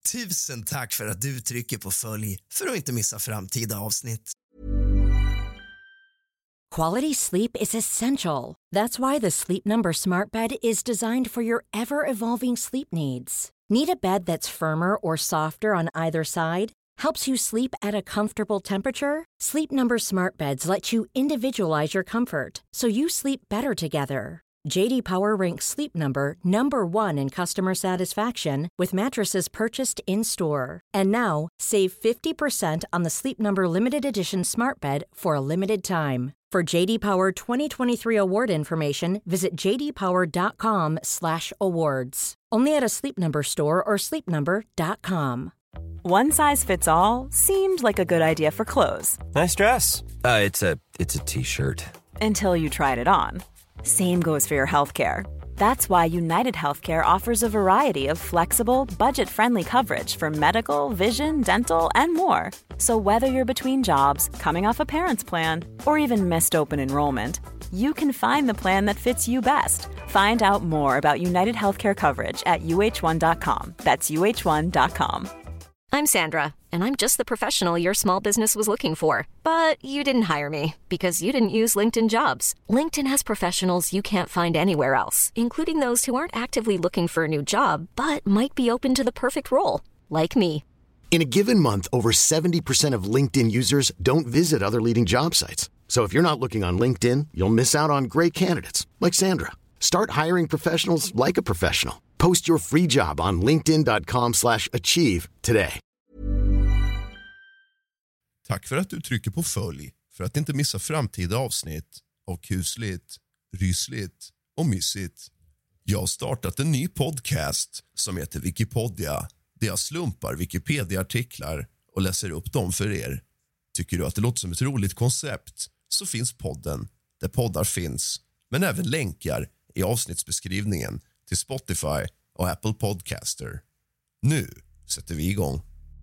Tusen tack för att du trycker på följ för att inte missa framtida avsnitt. Quality sleep is essential. That's why the Sleep Number Smart Bed is designed for your ever-evolving sleep needs. Need a bed that's firmer or softer on either side? Helps you sleep at a comfortable temperature? Sleep Number Smart Beds let you individualize your comfort so you sleep better together. J.D. Power ranks Sleep Number #1 in customer satisfaction with mattresses purchased in-store. And now, save 50% on the Sleep Number Limited Edition Smart Bed for a limited time. For J.D. Power 2023 award information, visit jdpower.com/awards. Only at a Sleep Number store or sleepnumber.com. One size fits all seemed like a good idea for clothes. Nice dress. It's a t-shirt. Until you tried it on. Same goes for your healthcare. That's why United Healthcare offers a variety of flexible, budget-friendly coverage for medical, vision, dental, and more. So whether you're between jobs, coming off a parent's plan, or even missed open enrollment, you can find the plan that fits you best. Find out more about United Healthcare coverage at uh1.com. That's uh1.com. I'm Sandra, and I'm just the professional your small business was looking for. But you didn't hire me because you didn't use LinkedIn Jobs. LinkedIn has professionals you can't find anywhere else, including those who aren't actively looking for a new job, but might be open to the perfect role, like me. In a given month, over 70% of LinkedIn users don't visit other leading job sites. So if you're not looking on LinkedIn, you'll miss out on great candidates, like Sandra. Start hiring professionals like a professional. Post your free job on linkedin.com/achieve today. Tack för att du trycker på följ för att inte missa framtida avsnitt av Kusligt, Rysligt och Mysigt. Jag har startat en ny podcast som heter Wikipedia, där jag slumpar Wikipedia-artiklar och läser upp dem för er. Tycker du att det låter som ett roligt koncept så finns podden där poddar finns, men även länkar i avsnittsbeskrivningen till Spotify och Apple Podcaster. Nu sätter vi igång.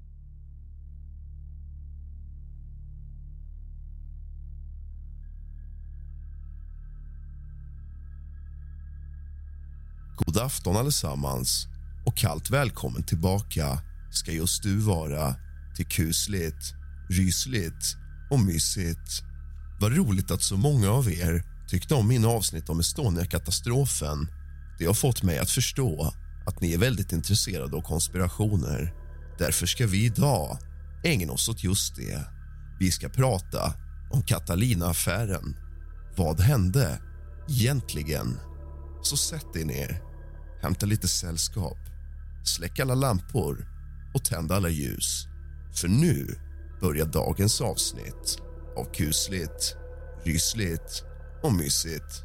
God afton allesammans och kallt välkommen tillbaka ska just du vara till Kusligt, Rysligt och Mysigt. Vad roligt att så många av er tyckte om min avsnitt om Estonia-katastrofen. Det har fått mig att förstå att ni är väldigt intresserade av konspirationer. Därför ska vi idag ägna oss åt just det. Vi ska prata om Catalina-affären. Vad hände egentligen? Så sätt er ner, hämta lite sällskap, släck alla lampor och tänd alla ljus. För nu börjar dagens avsnitt av Kusligt, Rysligt och Mysigt.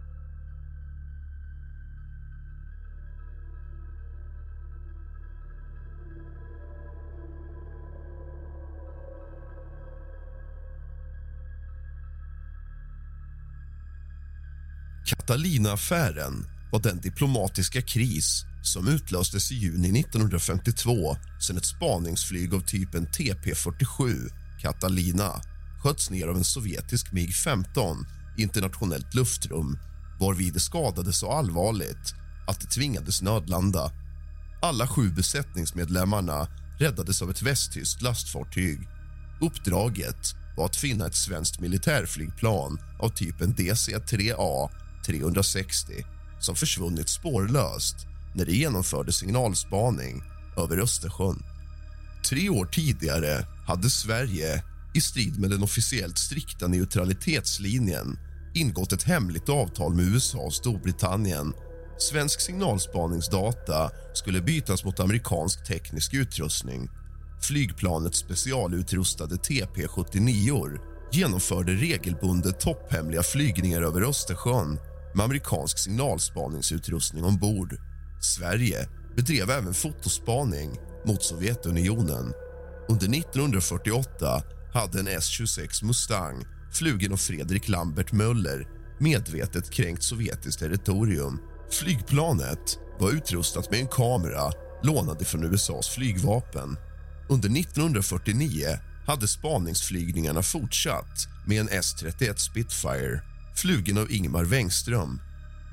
Catalina-affären var den diplomatiska kris som utlöstes i juni 1952 sedan ett spaningsflyg av typen TP-47 Catalina sköts ner av en sovjetisk MiG-15 i internationellt luftrum, varvid det skadades så allvarligt att det tvingades nödlanda. Alla 7 besättningsmedlemmarna räddades av ett västtyskt lastfartyg. Uppdraget var att finna ett svenskt militärflygplan av typen DC-3A 360 som försvunnit spårlöst när det genomförde signalspaning över Östersjön. 3 år tidigare hade Sverige, i strid med den officiellt strikta neutralitetslinjen, ingått ett hemligt avtal med USA och Storbritannien. Svensk signalspaningsdata skulle bytas mot amerikansk teknisk utrustning. Flygplanets specialutrustade TP-79 genomförde regelbundet topphemliga flygningar över Östersjön med amerikansk signalspaningsutrustning ombord. Sverige bedrev även fotospaning mot Sovjetunionen. Under 1948 hade en S-26 Mustang, flugen av Fredrik Lambert Möller, medvetet kränkt sovjetiskt territorium. Flygplanet var utrustat med en kamera lånad från USAs flygvapen. Under 1949 hade spaningsflygningarna fortsatt med en S-31 Spitfire, flugen av Ingmar Wengström.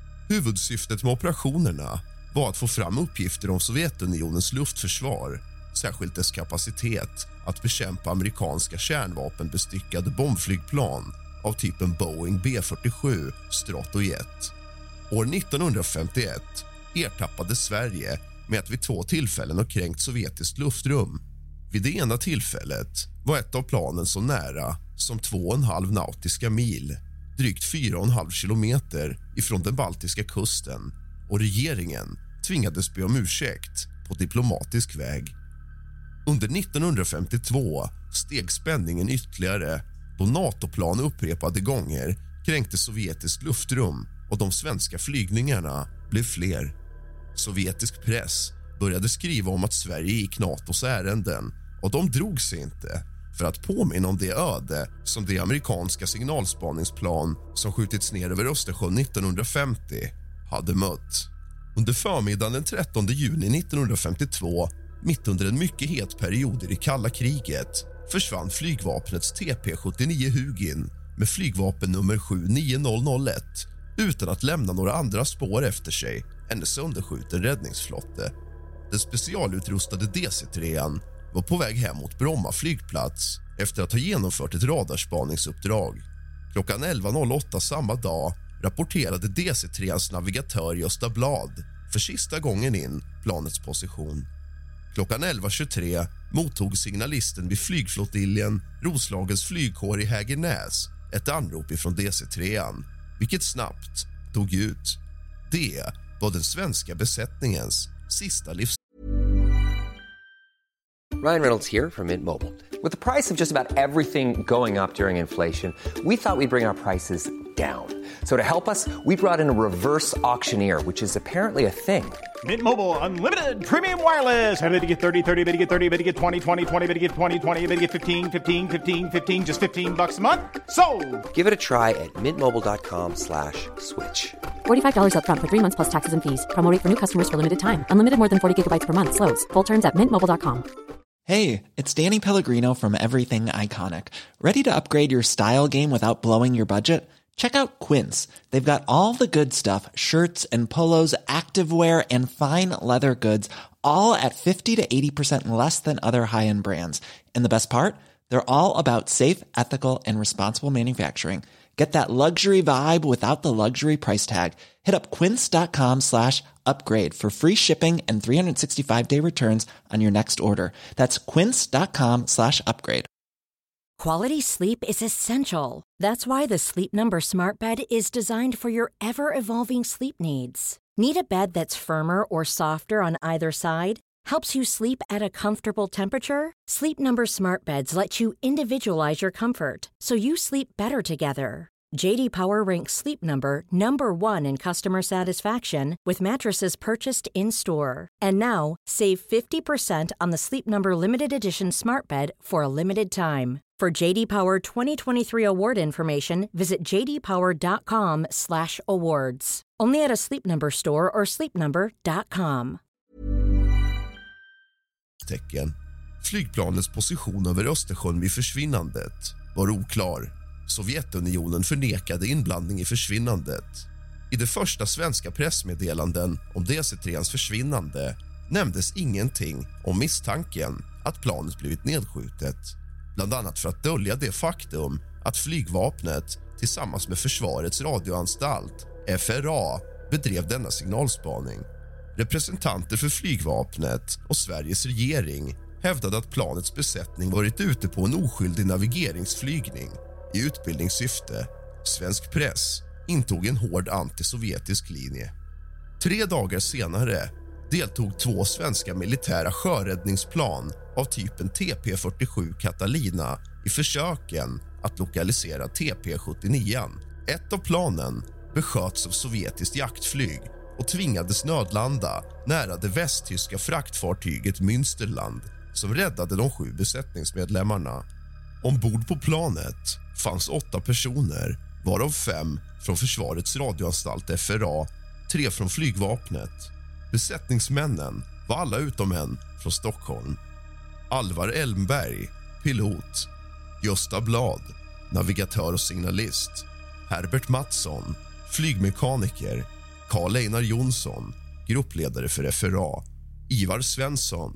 Huvudsyftet med operationerna var att få fram uppgifter om Sovjetunionens luftförsvar särskilt dess kapacitet att bekämpa amerikanska kärnvapenbestyckade bombflygplan av typen Boeing B-47 Stratojet. År 1951 ertappades Sverige med att vid 2 tillfällen ha kränkt sovjetiskt luftrum. Vid det ena tillfället var ett av planen så nära som 2,5 nautiska mil, drygt 4,5 kilometer ifrån den baltiska kusten, och regeringen tvingades be om ursäkt på diplomatisk väg. Under 1952 steg spänningen ytterligare då NATO-plan upprepade gånger kränkte sovjetiskt luftrum och de svenska flygningarna blev fler. Sovjetisk press började skriva om att Sverige gick NATOs ärenden, och de drog sig inte för att påminna om det öde som det amerikanska signalspaningsplan som skjutits ner över Östersjön 1950 hade mött. Under förmiddagen den 13 juni 1952, mitt under en mycket het period i det kalla kriget, försvann flygvapnets TP-79 Hugin med flygvapen nummer 79001 utan att lämna några andra spår efter sig än en sönderskjuten räddningsflotte. Den specialutrustade DC-3 var på väg hem mot Bromma flygplats efter att ha genomfört ett radarspaningsuppdrag. Klockan 11.08 samma dag rapporterade DC-3ans navigatör Gösta Blad för sista gången in planets position. Klockan 11.23 mottog signalisten vid flygflottiljen Roslagens flygkår i Hägernäs ett anrop ifrån DC-3an, vilket snabbt tog ut. Det var den svenska besättningens sista livs. Ryan Reynolds here from Mint Mobile. With the price of just about everything going up during inflation, we thought we'd bring our prices down. So to help us, we brought in a reverse auctioneer, which is apparently a thing. Mint Mobile Unlimited Premium Wireless. How to get 30, 30, bit to get 30, bit to get 20, 20, 20, bit to get 20, 20, bit to get 15, 15, 15, 15, just $15 a month? Sold! Give it a try at mintmobile.com/switch. $45 up front for 3 months plus taxes and fees. Promo rate for new customers for limited time. Unlimited more than 40 gigabytes per month. Slows full terms at mintmobile.com. Hey, it's Danny Pellegrino from Everything Iconic. Ready to upgrade your style game without blowing your budget? Check out Quince. They've got all the good stuff, shirts and polos, activewear, and fine leather goods, all at 50 to 80% less than other high-end brands. And the best part? They're all about safe, ethical, and responsible manufacturing. Get that luxury vibe without the luxury price tag. Hit up quince.com/upgrade for free shipping and 365-day returns on your next order. That's quince.com/upgrade. Quality sleep is essential. That's why the Sleep Number Smart Bed is designed for your ever-evolving sleep needs. Need a bed that's firmer or softer on either side? Helps you sleep at a comfortable temperature? Sleep Number Smart Beds let you individualize your comfort so you sleep better together. J.D. Power ranks Sleep Number #1 in customer satisfaction with mattresses purchased in-store. And now, save 50% on the Sleep Number Limited Edition Smart Bed for a limited time. For J.D. Power 2023 award information, visit jdpower.com/awards. Only at a Sleep Number store or sleepnumber.com. Flygplanets position över Östersjön vid försvinnandet var oklar. Sovjetunionen förnekade inblandning i försvinnandet. I det första svenska pressmeddelanden om DC-3ans försvinnande nämndes ingenting om misstanken att planet blivit nedskjutet. Bland annat för att dölja det faktum att flygvapnet tillsammans med Försvarets radioanstalt, FRA, bedrev denna signalspaning. Representanter för flygvapnet och Sveriges regering hävdade att planets besättning varit ute på en oskyldig navigeringsflygning i utbildningssyfte. Svensk press intog en hård antisovjetisk linje. 3 dagar senare deltog 2 svenska militära sjöräddningsplan av typen TP-47 Catalina i försöken att lokalisera TP-79. Ett av planen besköts av sovjetiskt jaktflyg och tvingades nödlanda nära det västtyska fraktfartyget Münsterland som räddade de 7 besättningsmedlemmarna. Ombord på planet fanns 8 personer, varav 5 från Försvarets radioanstalt FRA, 3 från flygvapnet. Besättningsmännen var alla utom en från Stockholm. Alvar Elmberg, pilot. Gösta Blad, navigatör och signalist. Herbert Mattsson, flygmekaniker. Karl Einar Jonsson, gruppledare för FRA. Ivar Svensson,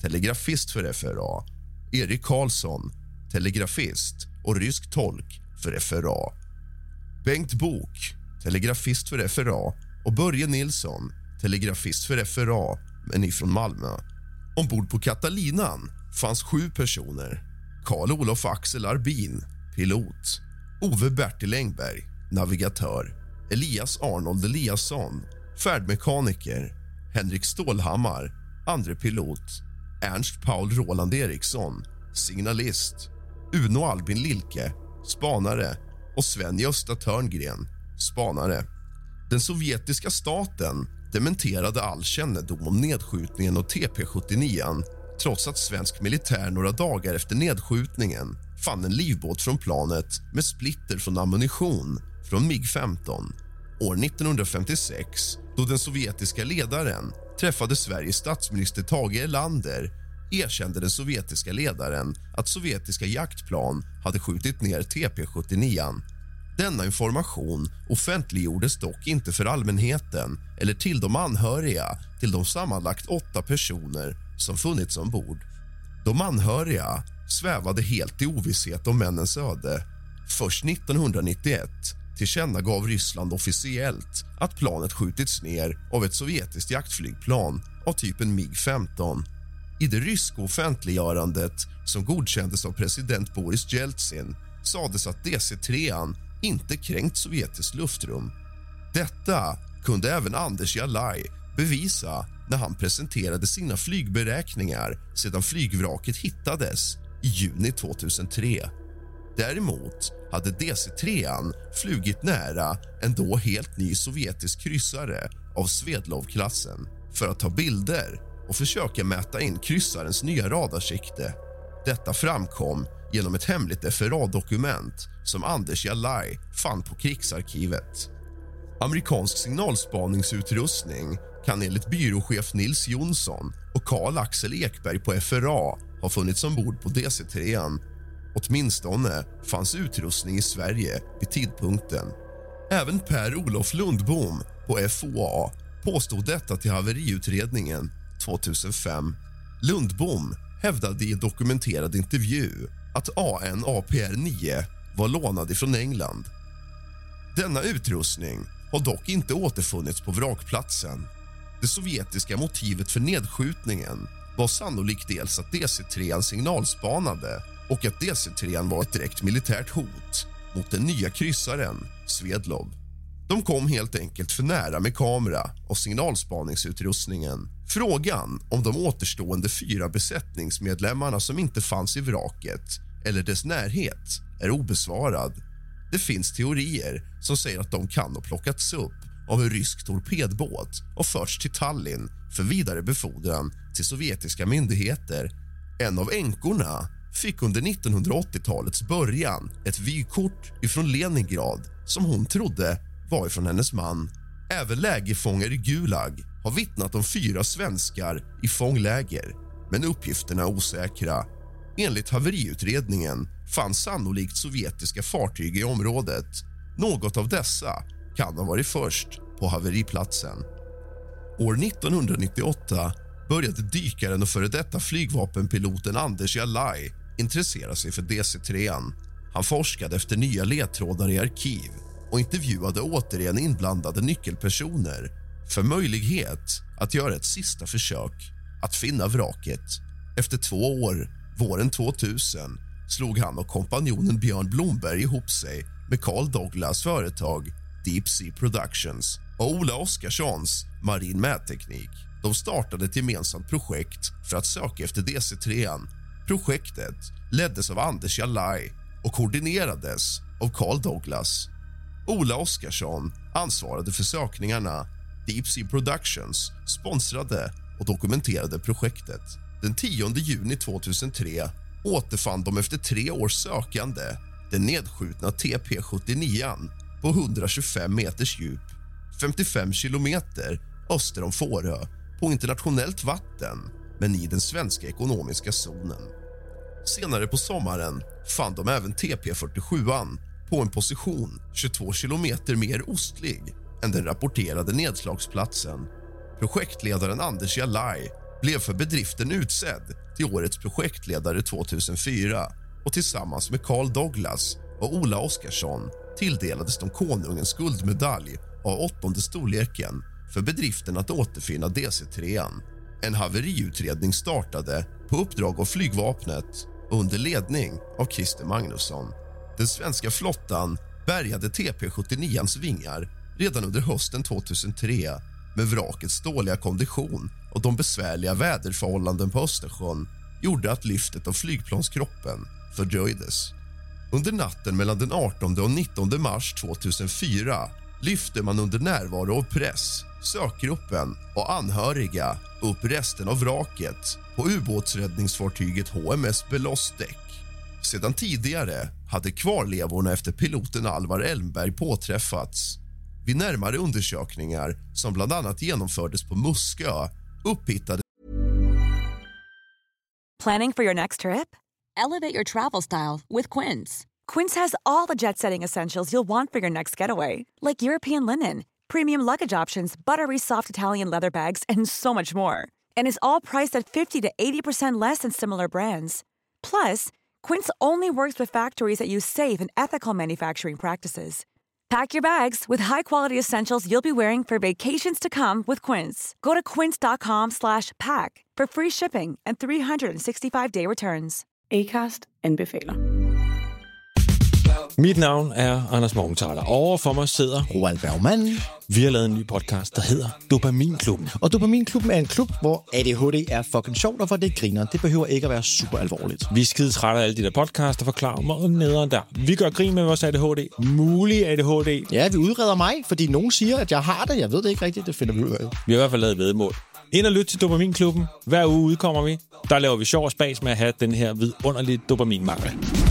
telegrafist för FRA, Erik Karlsson, telegrafist och rysk tolk för FRA, Bengt Bok, telegrafist för FRA och Börje Nilsson, telegrafist för FRA, men ifrån Malmö. Ombord på Catalinan fanns 7 personer. Karl-Olof Axel Arbin, pilot, Ove Bertil Engberg, navigatör, Elias Arnold Eliasson, färdmekaniker, Henrik Stålhammar, andre pilot, Ernst Paul Roland Eriksson, signalist, Uno Albin Lilke, spanare och Sven-Gösta Törngren, spanare. Den sovjetiska staten dementerade all kännedom om nedskjutningen av TP-79 trots att svensk militär några dagar efter nedskjutningen fann en livbåt från planet med splitter från ammunition från MiG-15. År 1956, då den sovjetiska ledaren träffade Sveriges statsminister Tage Erlander, erkände den sovjetiska ledaren att sovjetiska jaktplan hade skjutit ner TP-79. Denna information offentliggjordes dock inte för allmänheten eller till de anhöriga till de sammanlagt 8 personer som funnits ombord. De anhöriga svävade helt i ovisshet om männens öde. Först 1991 tillkännagav Ryssland officiellt att planet skjutits ner av ett sovjetiskt jaktflygplan av typen MiG-15. I det ryska offentliggörandet, som godkändes av president Boris Jeltsin, sades att DC-3 inte kränkt sovjetiskt luftrum. Detta kunde även Anders Jalaj bevisa när han presenterade sina flygberäkningar sedan flygvraket hittades i juni 2003. Däremot hade DC-3 flugit nära en då helt ny sovjetisk kryssare av Svedlov-klassen för att ta bilder och försöka mäta in kryssarens nya radarsikte. Detta framkom genom ett hemligt FRA-dokument som Anders Jalaj fann på krigsarkivet. Amerikansk signalspaningsutrustning kan enligt byråchef Nils Jonsson och Carl Axel Ekberg på FRA ha funnits ombord på DC-3. Åtminstone fanns utrustning i Sverige vid tidpunkten. Även Per-Olof Lundbom på FOA påstod detta till haveriutredningen 2005. Lundbom hävdade i en dokumenterad intervju att AN/APR-9 var lånad ifrån England. Denna utrustning har dock inte återfunnits på vrakplatsen. Det sovjetiska motivet för nedskjutningen var sannolikt dels att DC-3 signalspanade och att DC-3 var ett direkt militärt hot mot den nya kryssaren Svedlov. De kom helt enkelt för nära med kamera och signalspaningsutrustningen. Frågan om de återstående 4 besättningsmedlemmarna som inte fanns i vraket eller dess närhet är obesvarad. Det finns teorier som säger att de kan ha plockats upp av en rysk torpedbåt och förts till Tallinn för vidare befordran till sovjetiska myndigheter. En av änkorna fick under 1980-talets början ett vykort ifrån Leningrad som hon trodde var ifrån hennes man. Även lägerfångar i Gulag har vittnat om 4 svenskar i fångläger, men uppgifterna är osäkra. Enligt haveriutredningen fanns sannolikt sovjetiska fartyg i området. Något av dessa kan ha varit först på haveriplatsen. År 1998 började dykaren och före detta flygvapenpiloten Anders Jalaj intressera sig för DC-3. Han forskade efter nya ledtrådar i arkiv och intervjuade återigen inblandade nyckelpersoner för möjlighet att göra ett sista försök att finna vraket. Efter 2 år, våren 2000, slog han och kompanjonen Björn Blomberg ihop sig med Carl Douglas företag Deep Sea Productions och Ola Oskarssons Marin Mätteknik. De startade ett gemensamt projekt för att söka efter DC-3. Projektet leddes av Anders Jalaj och koordinerades av Carl Douglas. Ola Oskarsson ansvarade för sökningarna. Deep Sea Productions sponsrade och dokumenterade projektet. Den 10 juni 2003 återfann de efter 3 års sökande den nedskjutna TP-79 på 125 meters djup, 55 kilometer öster om Fårö på internationellt vatten, men i den svenska ekonomiska zonen. Senare på sommaren fann de även TP-47 på en position 22 kilometer mer ostlig än den rapporterade nedslagsplatsen. Projektledaren Anders Jalaj blev för bedriften utsedd till årets projektledare 2004 och tillsammans med Carl Douglas och Ola Oskarsson tilldelades de konungens guldmedalj av 8:e storleken för bedriften att återfinna DC-3. En haveriutredning startade på uppdrag av flygvapnet under ledning av Christer Magnusson. Den svenska flottan bärgade TP-79ans vingar redan under hösten 2003, men vrakets dåliga kondition och de besvärliga väderförhållanden på Östersjön gjorde att lyftet av flygplanskroppen fördröjdes. Under natten mellan den 18 och 19 mars 2004 lyfte man under närvaro av press, sökgruppen och anhöriga upp resten av vraket på ubåtsräddningsfartyget HMS Belostek. Sedan tidigare hade kvarlevorna efter piloten Alvar Elmberg påträffats. Vid närmare undersökningar som bland annat genomfördes på Muskö upphittade. Planning for your next trip? Elevate your travel style with Quince. Quince has all the jet-setting essentials you'll want for your next getaway, like European linen, premium luggage options, buttery soft Italian leather bags, and so much more. And is all priced at 50 to 80% less than similar brands. Plus, Quince only works with factories that use safe and ethical manufacturing practices. Pack your bags with high-quality essentials you'll be wearing for vacations to come with Quince. Go to quince.com/pack for free shipping and 365-day returns. Acast anbefaler. Mit navn er Anders Morgenthaler. Over for mig sidder Roald Bergmann. Vi har lavet en ny podcast, der hedder Dopaminklubben. Og Dopaminklubben er en klub, hvor ADHD er fucking sjovt, og hvor det griner. Det behøver ikke at være super alvorligt. Vi er skide trætte af alle de der podcasts, der forklarer mig og nederen der. Vi gør grin med vores ADHD. Mulig ADHD. Ja, vi udreder mig, fordi nogen siger, at jeg har det. Jeg ved det ikke rigtigt, det finder vi ud af. Vi har i hvert fald lavet væddemål. Ind og lyt til Dopaminklubben. Hver uge udkommer vi. Der laver vi sjov og spas med at have den her vidunderlige dopaminmangel.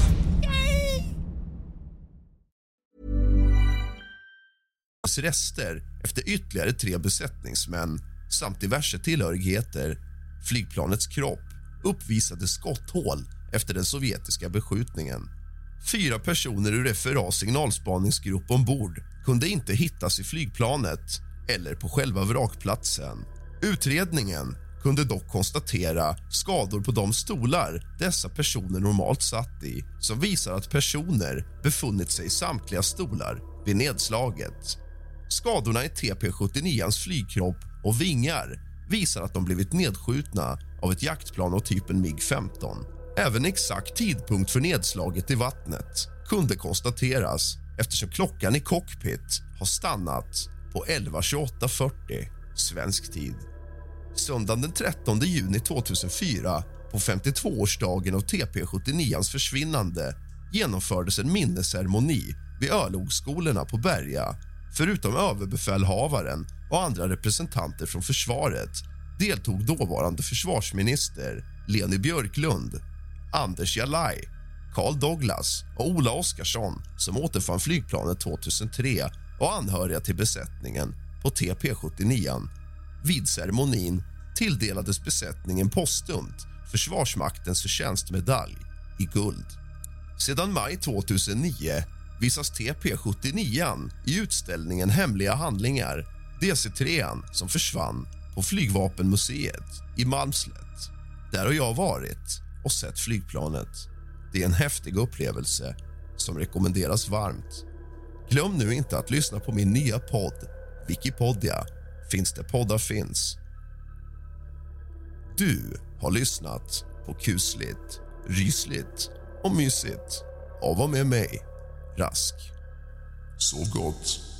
Rester efter ytterligare 3 besättningsmän samt diverse tillhörigheter. Flygplanets kropp uppvisade skotthål efter den sovjetiska beskjutningen. 4 personer ur FRA signalspaningsgrupp ombord kunde inte hittas i flygplanet eller på själva vrakplatsen. Utredningen kunde dock konstatera skador på de stolar dessa personer normalt satt i, som visar att personer befunnit sig i samtliga stolar vid nedslaget. Skadorna i TP-79ans flygkropp och vingar visar att de blivit nedskjutna av ett jaktplan av typen MiG-15. Även exakt tidpunkt för nedslaget i vattnet kunde konstateras eftersom klockan i cockpit har stannat på 11:28:40 svensk tid. Söndagen den 13 juni 2004, på 52-årsdagen av TP-79ans försvinnande, genomfördes en minnesceremoni vid örlogsskolorna på Berga. Förutom överbefälhavaren och andra representanter från försvaret deltog dåvarande försvarsminister Leni Björklund, Anders Jalaj, Carl Douglas och Ola Oskarsson, som återfann flygplanet 2003, och anhöriga till besättningen på TP-79. Vid ceremonin tilldelades besättningen postumt Försvarsmaktens förtjänstmedalj i guld. Sedan maj 2009 visas TP-79 i utställningen Hemliga handlingar, DC-3 som försvann på Flygvapenmuseet i Malmslätt. Där har jag varit och sett flygplanet. Det är en häftig upplevelse som rekommenderas varmt. Glöm nu inte att lyssna på min nya podd, Wikipedia. Finns det poddar finns. Du har lyssnat på kusligt, rysligt och mysigt av och med mig, Rask. Så gott.